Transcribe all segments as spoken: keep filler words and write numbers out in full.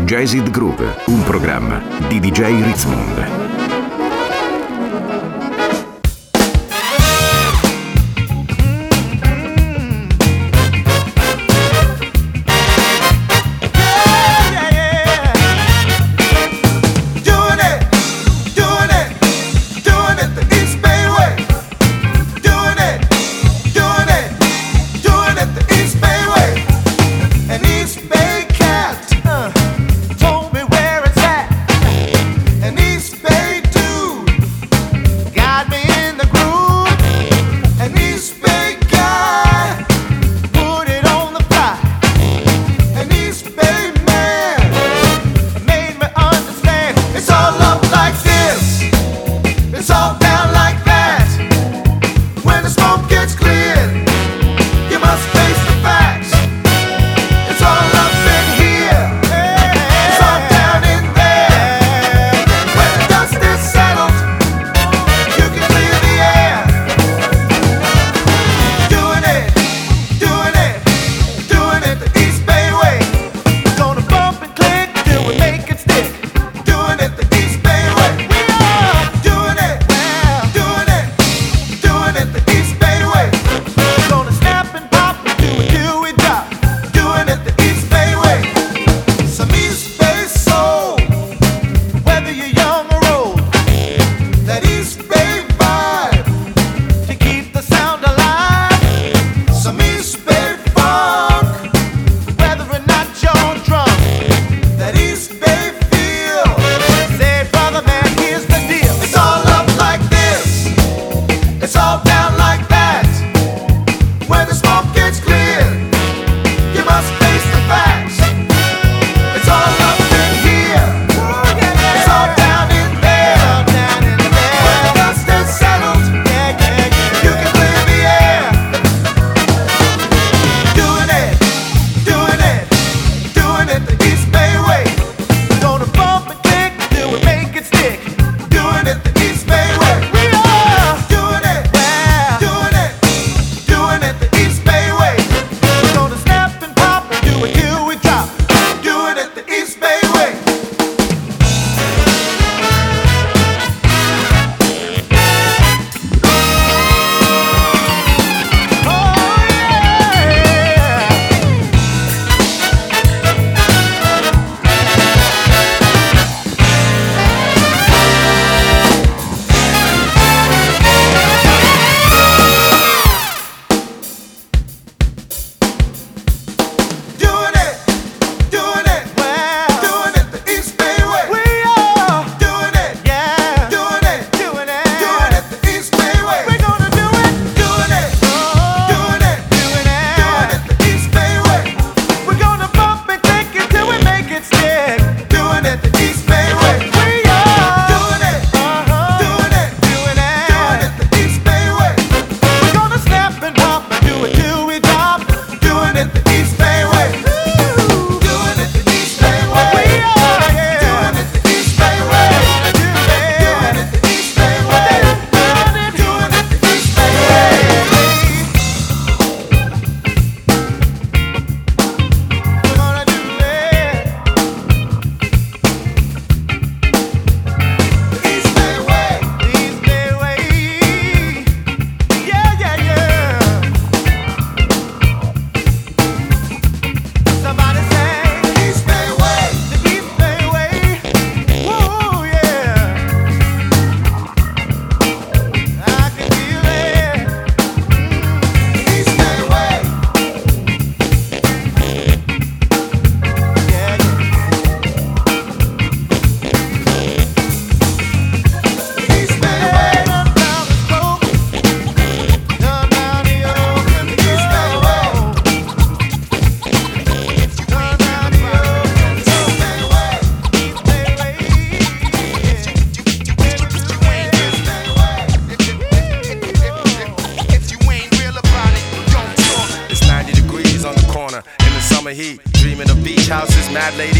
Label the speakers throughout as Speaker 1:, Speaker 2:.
Speaker 1: Jazzed Groove, un programma di D J Ritzmond.
Speaker 2: Told me where it's at, and East Bay.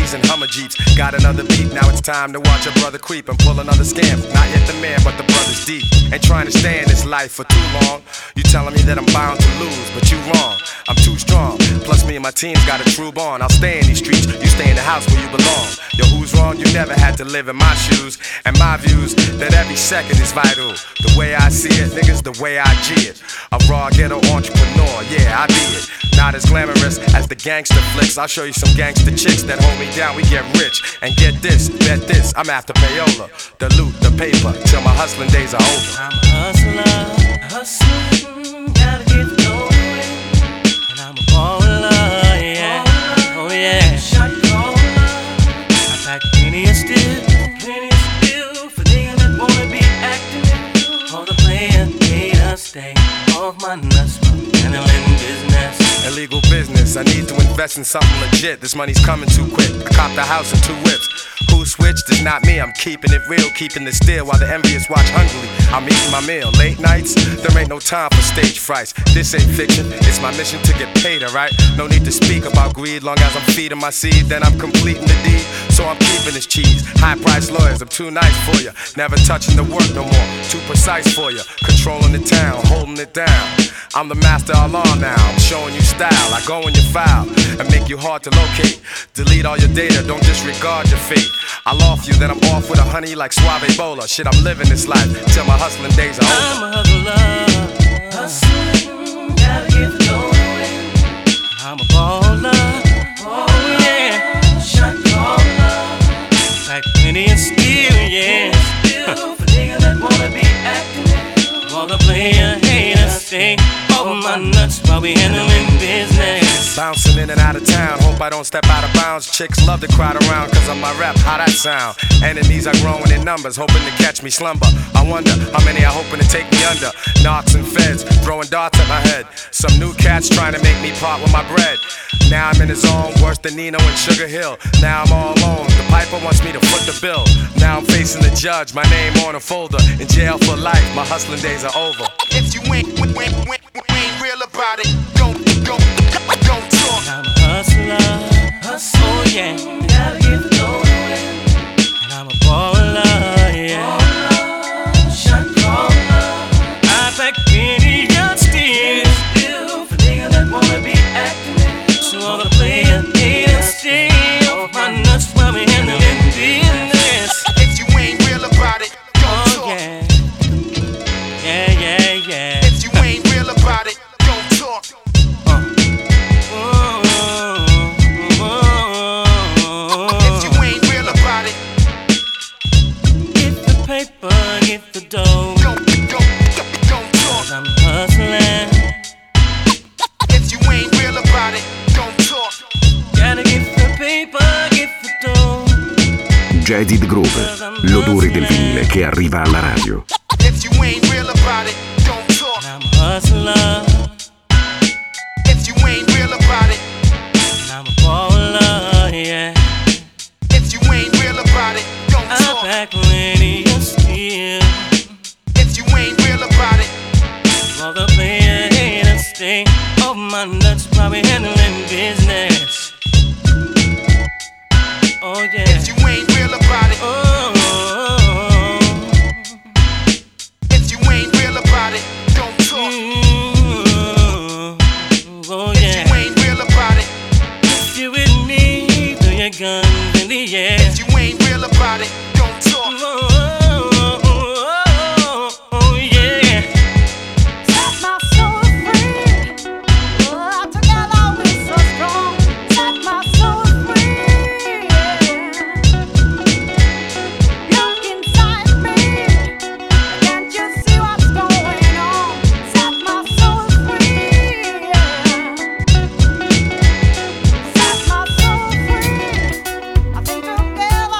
Speaker 2: Humvees and Hummer Jeeps. Got another beat, now it's time to watch a brother creep and pull another scam. Not yet the man, but the brother's deep. Ain't trying to stay in this life for too long. You telling me that I'm bound to lose, but you wrong. I'm too strong. Plus me and my team's got a true bond. I'll stay in these streets, you stay in the house where you belong. Yo, who's wrong? You never had to live in my shoes. And my views, that every second is vital. The way I see it, niggas, the way I G it. A raw ghetto entrepreneur, yeah, I be it. Not as glamorous as the gangster flicks. I'll show you some gangster chicks that hold me down. We get rich. And get this, bet this, I'm after payola. The loot, the paper, till my hustling days are over.
Speaker 3: I'm a hustler, hustling, gotta get the dough. And I'm a baller, yeah, oh yeah. Shot caller, I pack plenty of steel, plenty of steel for niggas that wanna be acting. All the player haters stay off my nuts, handling business.
Speaker 2: Illegal business, I need to invest in something legit. This money's coming too quick. I copped a house and two whips. Who switched? It's not me, I'm keeping it real, keeping it still while the envious watch hungrily. I'm eating my meal. Late nights, there ain't no time for stage frights. This ain't fiction, it's my mission to get paid, alright? No need to speak about greed, long as I'm feeding my seed, then I'm completing the deed. So I'm keeping this cheese. High price lawyers, I'm too nice for you. Never touching the work no more, too precise for you. Controlling the town, holding it down. I'm the master of law now, I'm showing you style. I go in your file and make you hard to locate. Delete all your data, don't disregard your fate. I off you, then I'm off with a honey like Suave Ebola. Shit, I'm living this life till my hustling days are over.
Speaker 3: I'm a hustler, hustling, gotta get the dough. I'm a baller, oh yeah, shot caller, like plenty of steel, yeah. Still for niggas that wanna be acting. All the player haters stay over my nuts while we handling business.
Speaker 2: Bouncing in and out of town, hope I don't step out of bounds. Chicks love to crowd around cause of my rap, how that sound. Enemies are growing in numbers, hoping to catch me slumber. I wonder how many are hoping to take me under. Knocks and feds, throwing darts at my head. Some new cats trying to make me part with my bread. Now I'm in the zone, worse than Nino and Sugar Hill. Now I'm all alone, the piper wants me to foot the bill. Now I'm facing the judge, my name on a folder. In jail for life, my hustling days are over.
Speaker 4: If you ain't, ain't, ain't, ain't real about it, don't, don't, don't talk.
Speaker 3: I'm a hustler, hustle, oh yeah, gotta get the dough. And I'm a baller, yeah, baller, shot caller. I pack plenty of steel, still for niggas that wanna be acting. So all the players haters stay off my nuts while we handling business.
Speaker 4: If you ain't real about it, don't
Speaker 3: oh,
Speaker 4: talk.
Speaker 3: Yeah. Yeah, yeah, yeah.
Speaker 4: If you ain't real about it, don't talk.
Speaker 3: Uh. Oh, oh, oh.
Speaker 4: If you ain't real about it,
Speaker 3: get the paper, get the dough.
Speaker 4: don't, don't, don't talk.
Speaker 3: Cause I'm hustling.
Speaker 4: If you ain't real about it, don't talk.
Speaker 3: Gotta get the paper, get the dough.
Speaker 1: Jaded Groove, l'odore del vinile che arriva alla radio.
Speaker 4: If you ain't real about it, don't talk.
Speaker 3: And I'm a hustler.
Speaker 4: If you ain't real about it,
Speaker 3: And I'm a baller, yeah.
Speaker 4: if you ain't real about it, don't
Speaker 3: I
Speaker 4: talk.
Speaker 3: pack plenty of steel.
Speaker 4: If you ain't real about it,
Speaker 3: All the player haters stay off my nuts while we handling business. Oh yeah.
Speaker 4: if you ain't real about it,
Speaker 3: Oh, oh, oh.
Speaker 4: if you ain't real about it, don't talk.
Speaker 3: Mm, oh
Speaker 4: If
Speaker 3: yeah.
Speaker 4: you ain't real about it,
Speaker 3: If you with me, throw your guns in the air.
Speaker 4: if you ain't real about it, don't talk.
Speaker 3: Oh, oh, oh, oh, oh, yeah.
Speaker 5: Set my soul free. Oh, together we're so strong. Set my soul free. Look inside me. Can't you see what's going on? Set my soul free. Set my soul free. I think together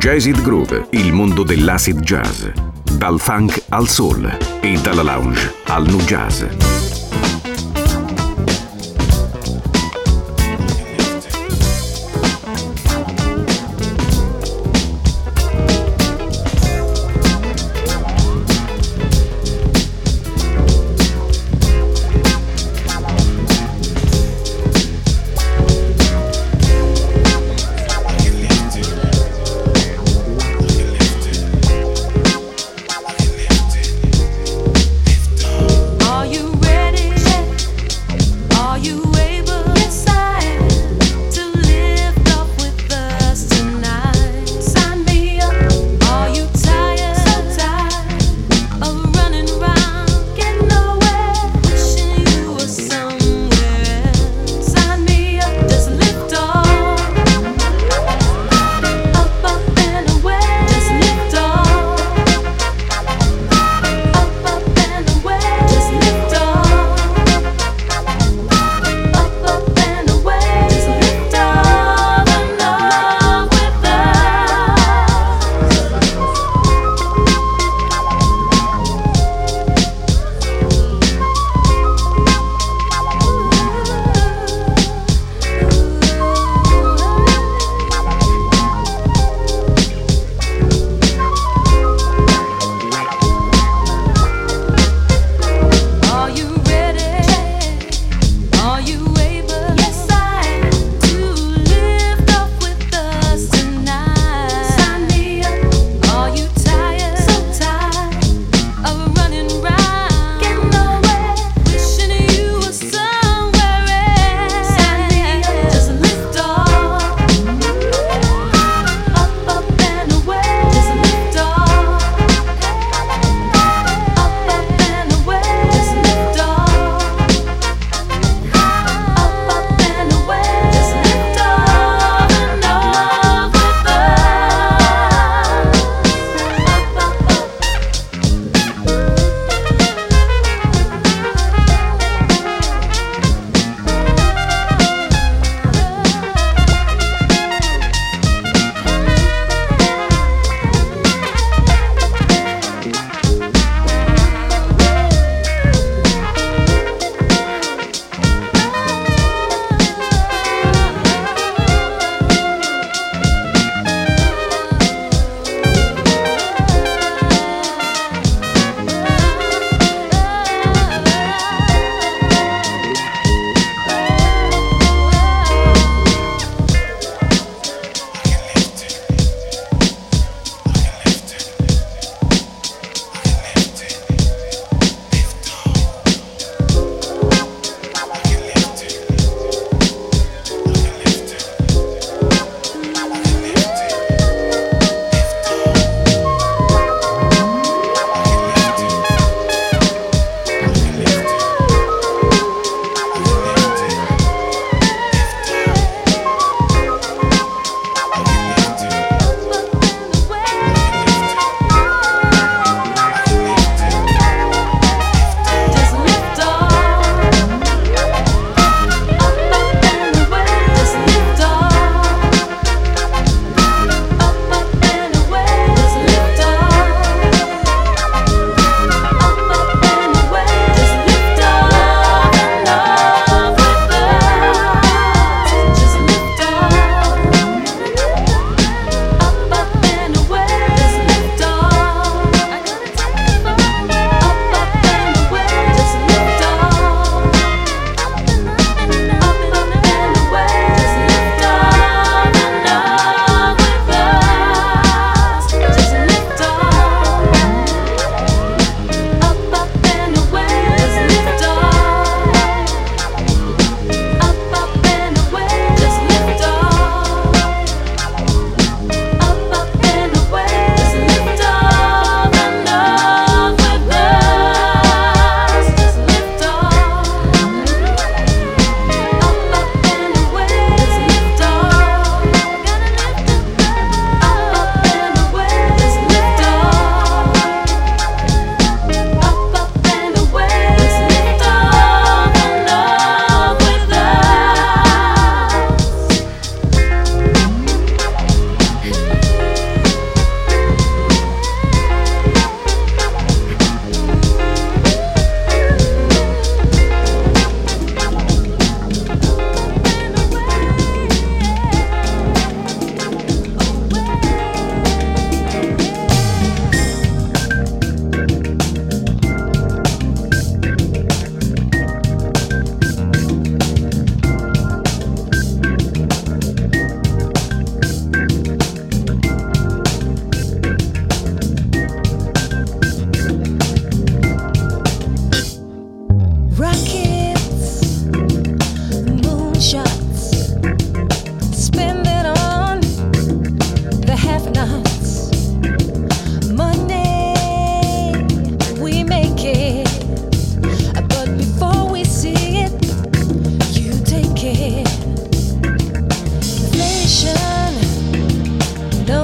Speaker 1: Jazzed Groove, il mondo dell'acid jazz. Dal funk al soul e dalla lounge al nu jazz.
Speaker 5: Are you ready?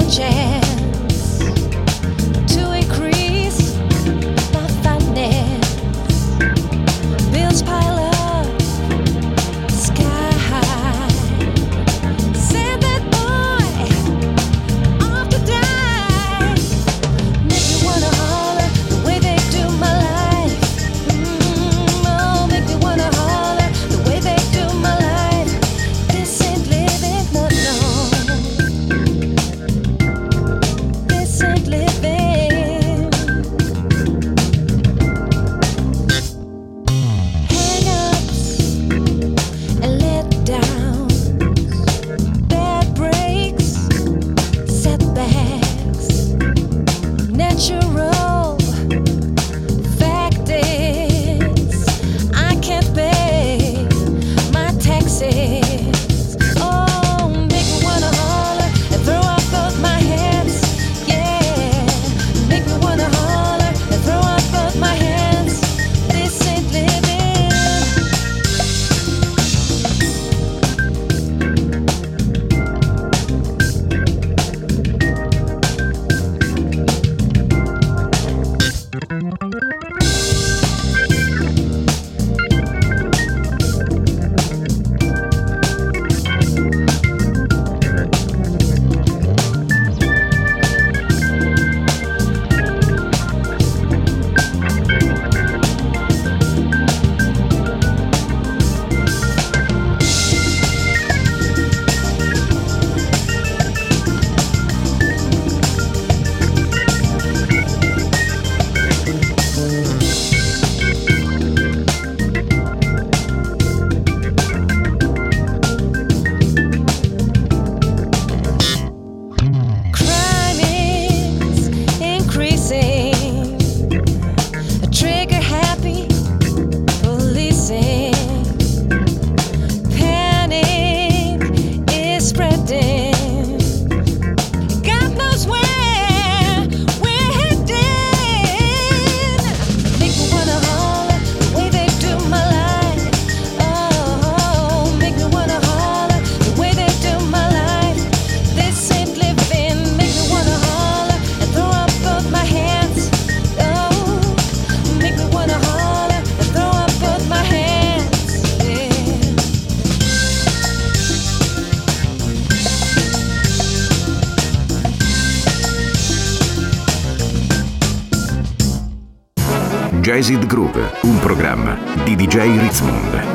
Speaker 1: Jazzed Groove, un programma di D J Ritzmond.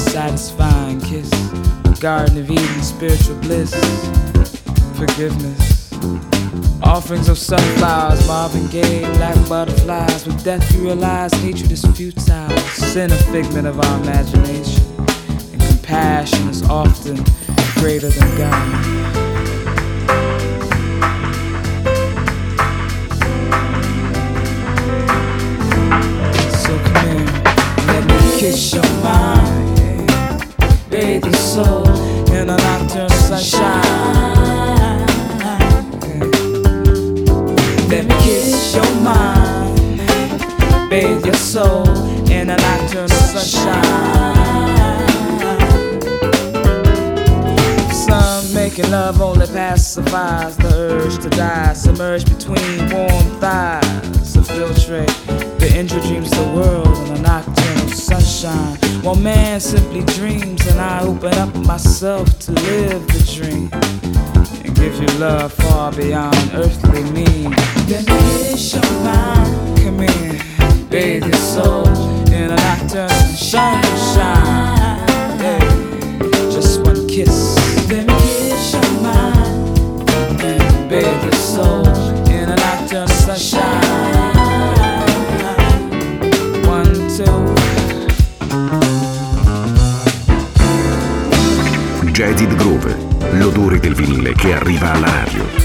Speaker 6: satisfying kiss, a garden of Eden, spiritual bliss, forgiveness. Offerings of sunflowers, Marvin Gaye, black butterflies. With death you realize hatred is futile, sin a figment of our imagination, and compassion is often greater than God. So come here, let me kiss your mind, yeah. Bathe your soul in a nocturnal sunshine. Let me kiss your mind, bathe your soul in a nocturnal sunshine. Some making love only pacifies the urge to die, submerged between warm thighs to filtrate the injured dreams of the world in a nocturnal sunshine. While man simply dreams and I open up myself to live the dream, give you love far beyond earthly means. Let me kiss your mind. Come here, bathe your soul in a nocturnal sunshine. Yeah. Just one kiss. Let me kiss your mind and bathe your soul in a nocturnal sunshine. One, two.
Speaker 1: Jaded Groove, l'odore del vinile che arriva alla radio.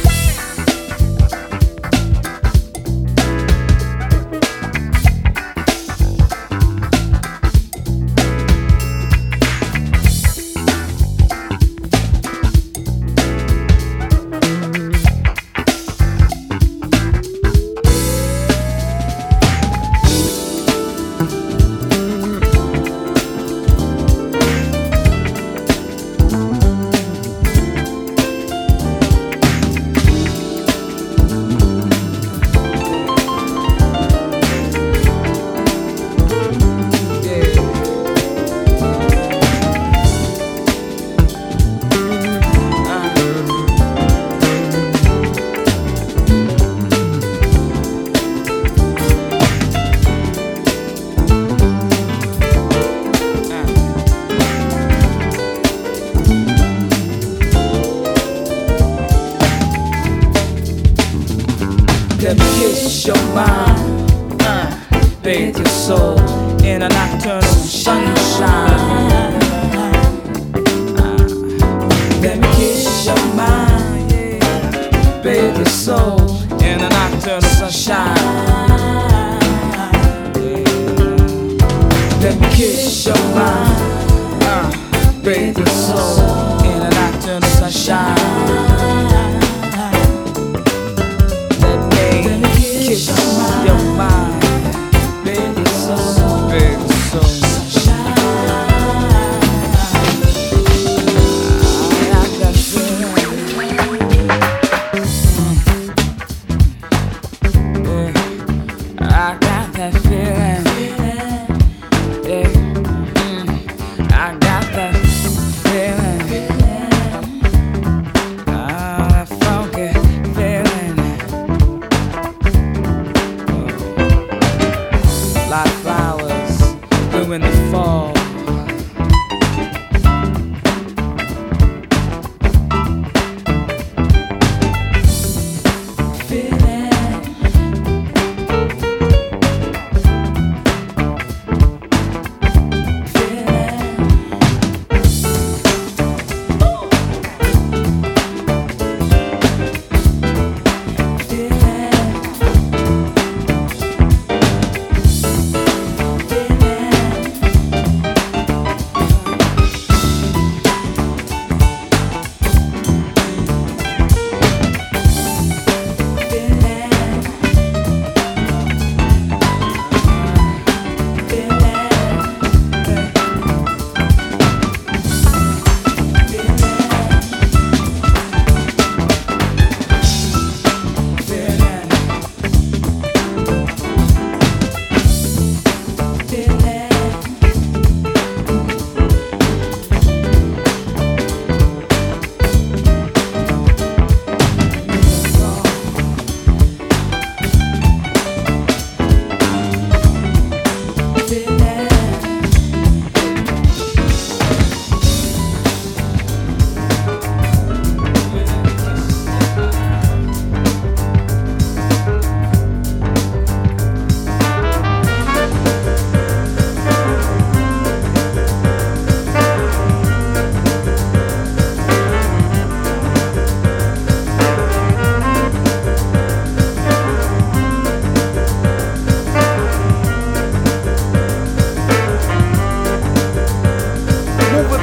Speaker 6: Let me kiss your mind, uh, bathe your soul in a nocturnal sunshine. Uh, let me kiss your mind, yeah. Bathe your soul in a nocturnal sunshine. Yeah. Let me kiss your mind, uh, bathe your soul in a nocturnal sunshine. Kiss your mind, bathe your soul, bathe your soul. I got that feeling. Yeah, I got that feeling. Yeah, I got that feeling. Ah, that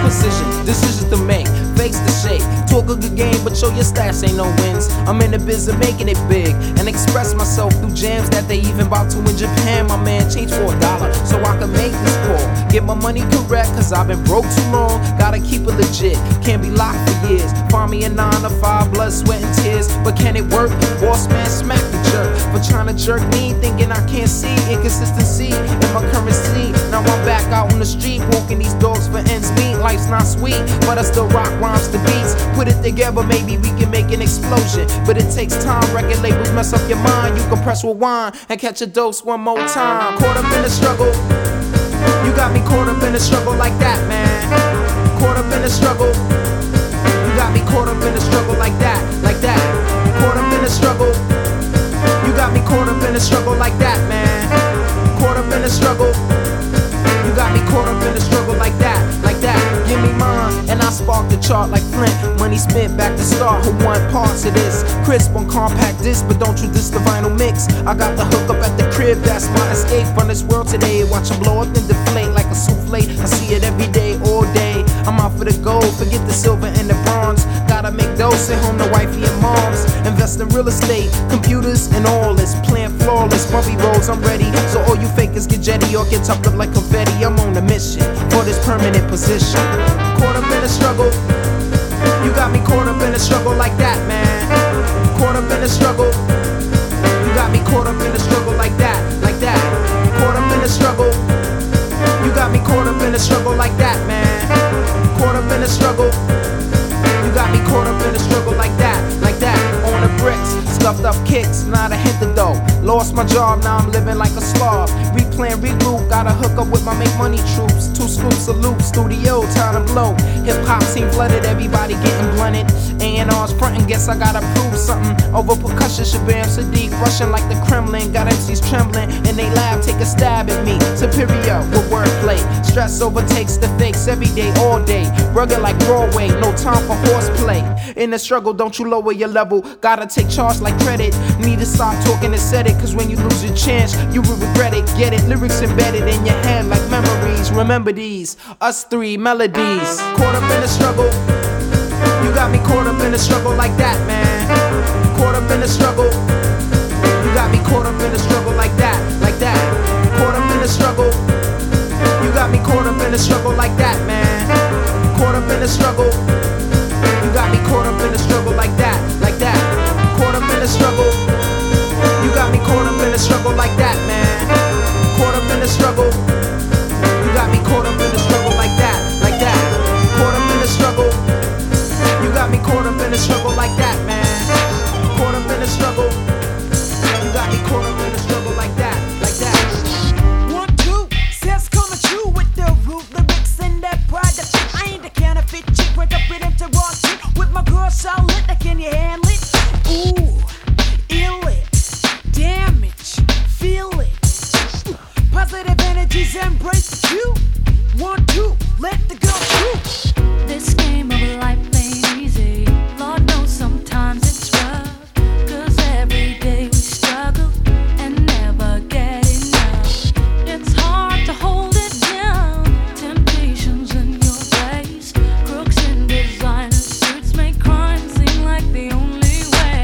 Speaker 7: precision, decisions to make, fakes to shake. Talk a good game, but show your stats ain't no wins. I'm in the biz of making it big and express myself through jams that they even about to in Japan. My man changed for a dollar so I can make this call. Get my money correct, cause I've been broke too long. Gotta keep it legit, can't be locked for years. Find me a nine to five, blood, sweat, and tears. But can it work? Boss man, smack the jerk for trying to jerk me, thinking I can't see inconsistency in my currency. Now I'm back out on the street, walking these dogs for ends meet. Life's not sweet, but I still rock rhymes to beats. Put it together, maybe we can make an explosion. But it takes time, record labels mess up your mind. You can press rewind and catch a dose one more time. Caught up in the struggle, you got me caught up in the struggle like that, man. Caught up in the struggle, you got me caught up in the struggle like that, like that. Caught up in the struggle, you got me caught up in the struggle like that, man. Caught up in the struggle, you got me caught up in the struggle like that, like that. Give me mine, and I spark the chart like Flint. Money spent back to start, who want parts of this? Crisp on compact disc, but don't you diss the vinyl mix. I got the hook up at the crib, that's my escape from this world today. Watch them blow up and deflate like a souffle. I see it every day, all day. I'm out for the gold, forget the silver and the bronze. Gotta make those, send home to wifey and moms. Invest in real estate, computers and all this. Plan flawless, bumpy roads, I'm ready. So all you fakers get jetty or get tucked up like confetti. I'm on a mission for this permanent position. Caught up in the struggle, you got me caught up in the struggle like that, man. Caught up in the struggle, you got me caught up in the struggle like that, like that. Caught up in the struggle, you got me caught up in the struggle like that, man. Caught up in the struggle, you got me caught up in the struggle like that, like that. On the bricks, stuffed up kicks, not a hit the dough. Lost my job, now I'm living like a slob. Replan, regroup, gotta hook up with my make money troops. Two scoops of loop, studio, time to blow. Hip hop scene flooded, everybody getting blunted. A and R's frontin', guess I gotta prove something. Over percussion, Shabam Sadiq, rushing like the Kremlin. Got M Cs trembling, in they lab, take a stab at me. Superior with wordplay. Stress overtakes the fakes every day, all day. Rugged like Broadway, no time for horseplay. In the struggle, don't you lower your level. Gotta take charge like credit. Need to stop talking and set it, cause when you lose your chance, you will regret it. Get it, lyrics embedded in your head like memories. Remember these, us three melodies. Caught up in the struggle, you got me caught up in the struggle like that, man. Caught up in the struggle, you got me caught up in the struggle like that, like that. Caught up in the struggle, you got me caught up in the struggle like that, man. Caught up in the struggle, you got me caught up in the struggle like that, like that. Caught up in the struggle, you got me caught up in the struggle like that, man. Caught up in the struggle, you got me caught up in the struggle like that, like that. Caught up in the struggle, you got me caught up in the struggle like that, man. Caught up in the struggle, you got me caught up in the struggle like that, like that.
Speaker 8: One, two, says coming true with the root lyrics and that product. I ain't the counterfeit chick, break up with him to raw shit. With my girl solid, can you handle it? Ooh, ill it, damage, feel it. Positive energies embrace the cue. One, two, let the girl through.
Speaker 5: This game of life ain't easy. Lord knows sometimes it's rough. Cause every day we struggle and never get enough. It's hard to hold it down. Temptations in your face. Crooks in designer suits make crime seem like the only way.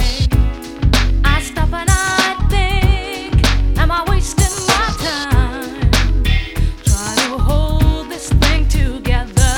Speaker 5: I stop and I think, am I wasting my time? Try to hold this thing together.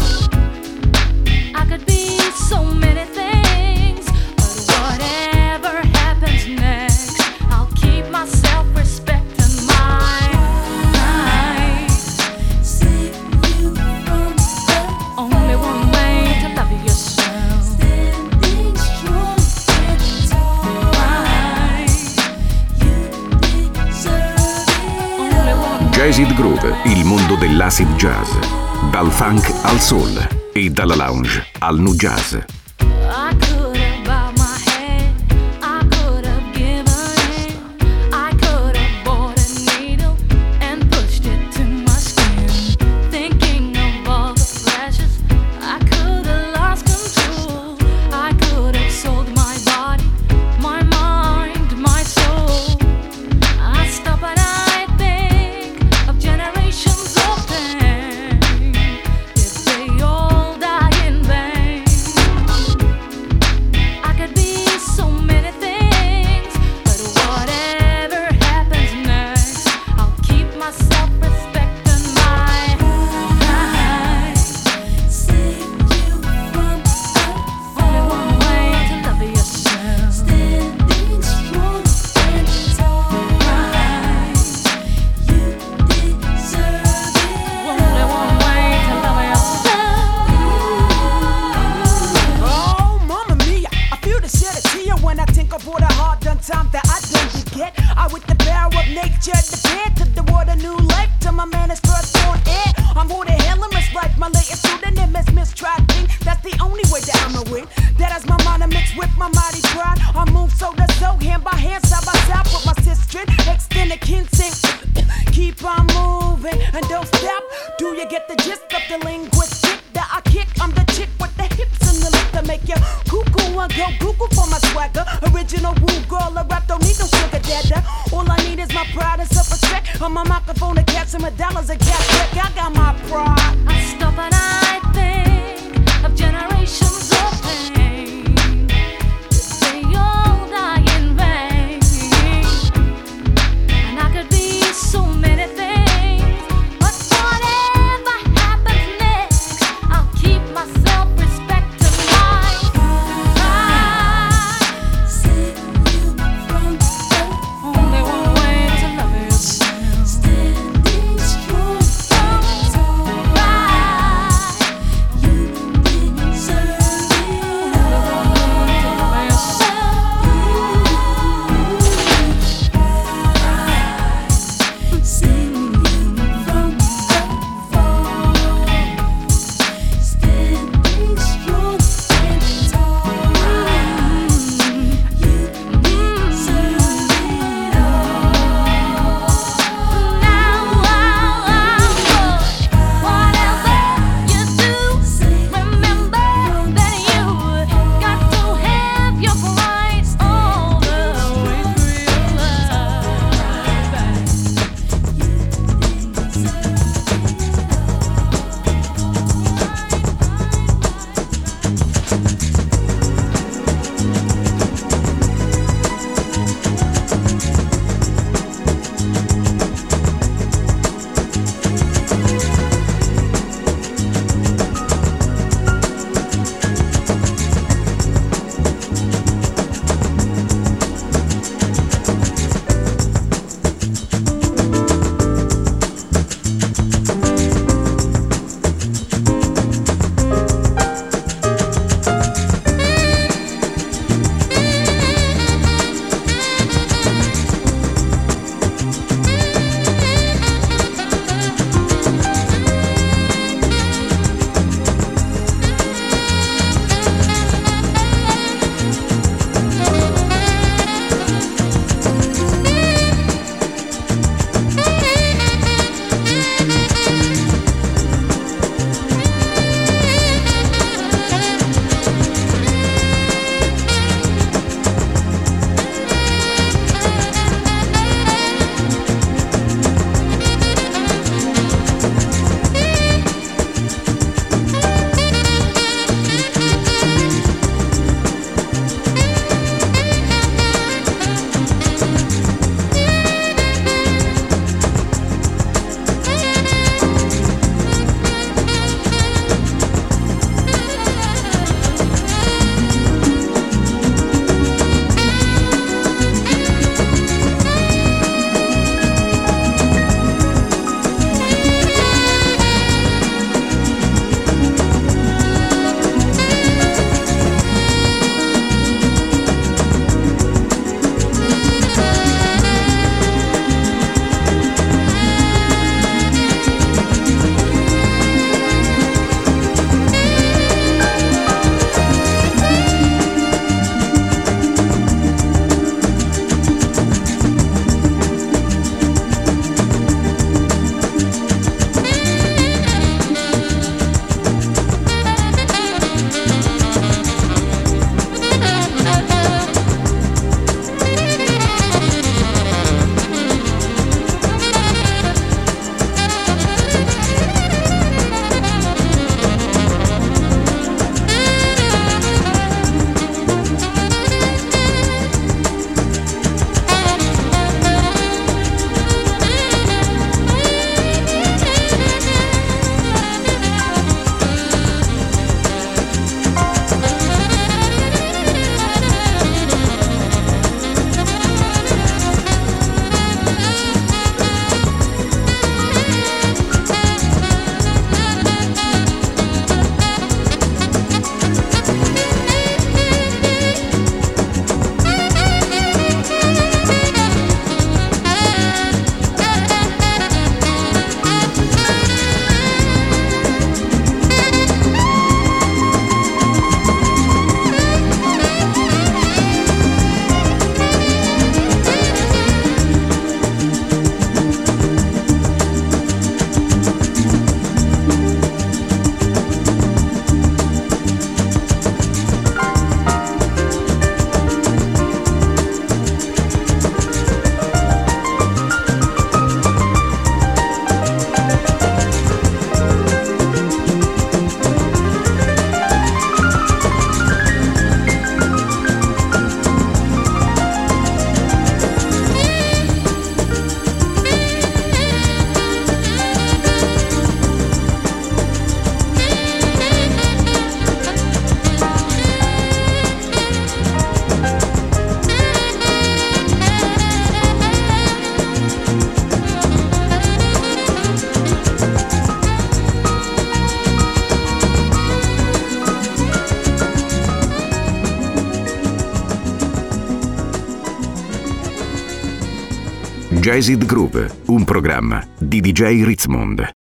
Speaker 5: I could be so many things, but whatever happens next, I'll keep my self-respect and my mind. Save you from the only one way to love yourself. Standing strong and tall. Right. You deserve it. Only one way.
Speaker 1: Jazzed Groove, il mondo dell'acid jazz. Dal funk al soul e dalla lounge al nu jazz.
Speaker 5: I could have bowed my head, I could have given in, I could have bought a needle and pushed it to my skin. Thinking of all the pleasures, I could have lost control. I could have sold my body, my mind, my soul. I stop and I think of generations of pain. If they all
Speaker 8: go Google for my swagger. Original rude girl, a rap don't need no sugar daddy. All I need is my pride and self-respect. On my microphone, a cat and my dollars, a cat check. I got my pride.
Speaker 5: I stop and I think of generations of pain. They all die in vain. And I could be so many things, but whatever happens next, I'll keep my self-respect to my pride. Only one way to love yourself. Standing strong. Pride.
Speaker 1: Jazzed Groove, un programma di D J Ritzmond.